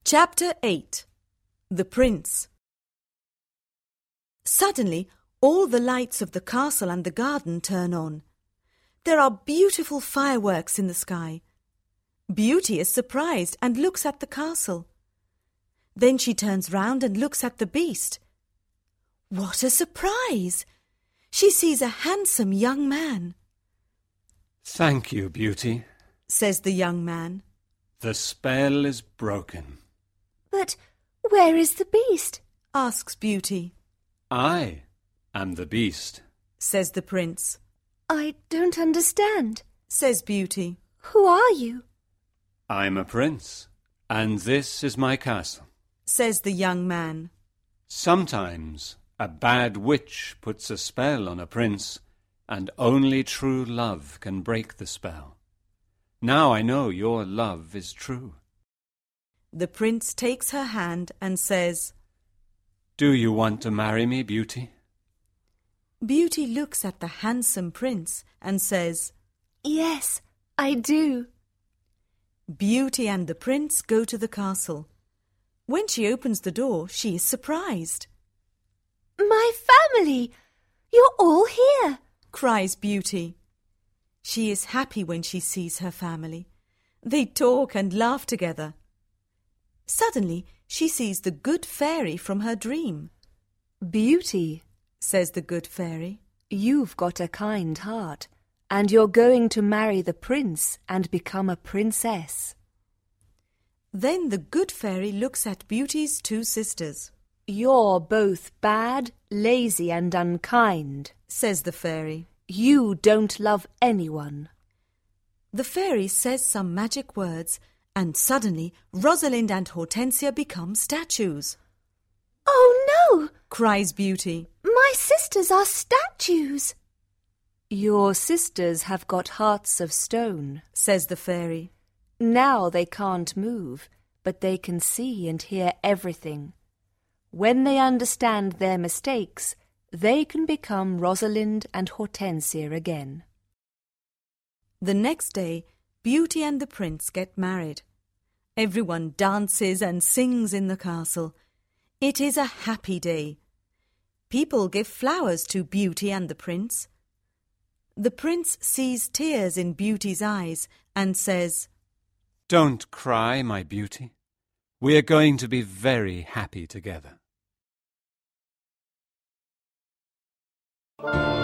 Chapter 8. The Prince. Suddenly, all the lights of the castle and the garden turn on. There are beautiful fireworks in the sky. Beauty is surprised and looks at the castle. Then she turns round and looks at the beast. What a surprise! She sees a handsome young man. "Thank you, Beauty," says the young man. "The spell is broken." "But where is the beast?" asks Beauty. "I am the beast," says the prince. "I don't understand," says Beauty. "Who are you?" "I'm a prince, and this is my castle," says the young man. "Sometimes a bad witch puts a spell on a prince, and only true love can break the spell. Now I know your love is true." The prince takes her hand and says, "Do you want to marry me, Beauty?" Beauty looks at the handsome prince and says, "Yes, I do." Beauty and the prince go to the castle. When she opens the door, she is surprised. "My family! You're all here!" cries Beauty. She is happy when she sees her family. They talk and laugh together. Suddenly, she sees the good fairy from her dream. "Beauty," says the good fairy, "you've got a kind heart, and you're going to marry the prince and become a princess." Then the good fairy looks at Beauty's two sisters. "You're both bad, lazy and unkind," says the fairy. "You don't love anyone." The fairy says some magic words, and suddenly Rosalind and Hortensia become statues. "Oh no!" cries Beauty. "My sisters are statues." "Your sisters have got hearts of stone," says the fairy. "Now they can't move, but they can see and hear everything. When they understand their mistakes, they can become Rosalind and Hortensia again." The next day, Beauty and the prince get married. Everyone dances and sings in the castle. It is a happy day. People give flowers to Beauty and the prince. The prince sees tears in Beauty's eyes and says, "Don't cry, my Beauty. We're going to be very happy together."